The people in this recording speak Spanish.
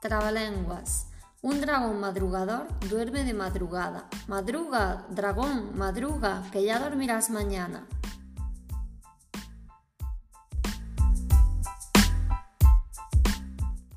Trabalenguas. Un dragón madrugador duerme de madrugada. Madruga, dragón, madruga, que ya dormirás mañana.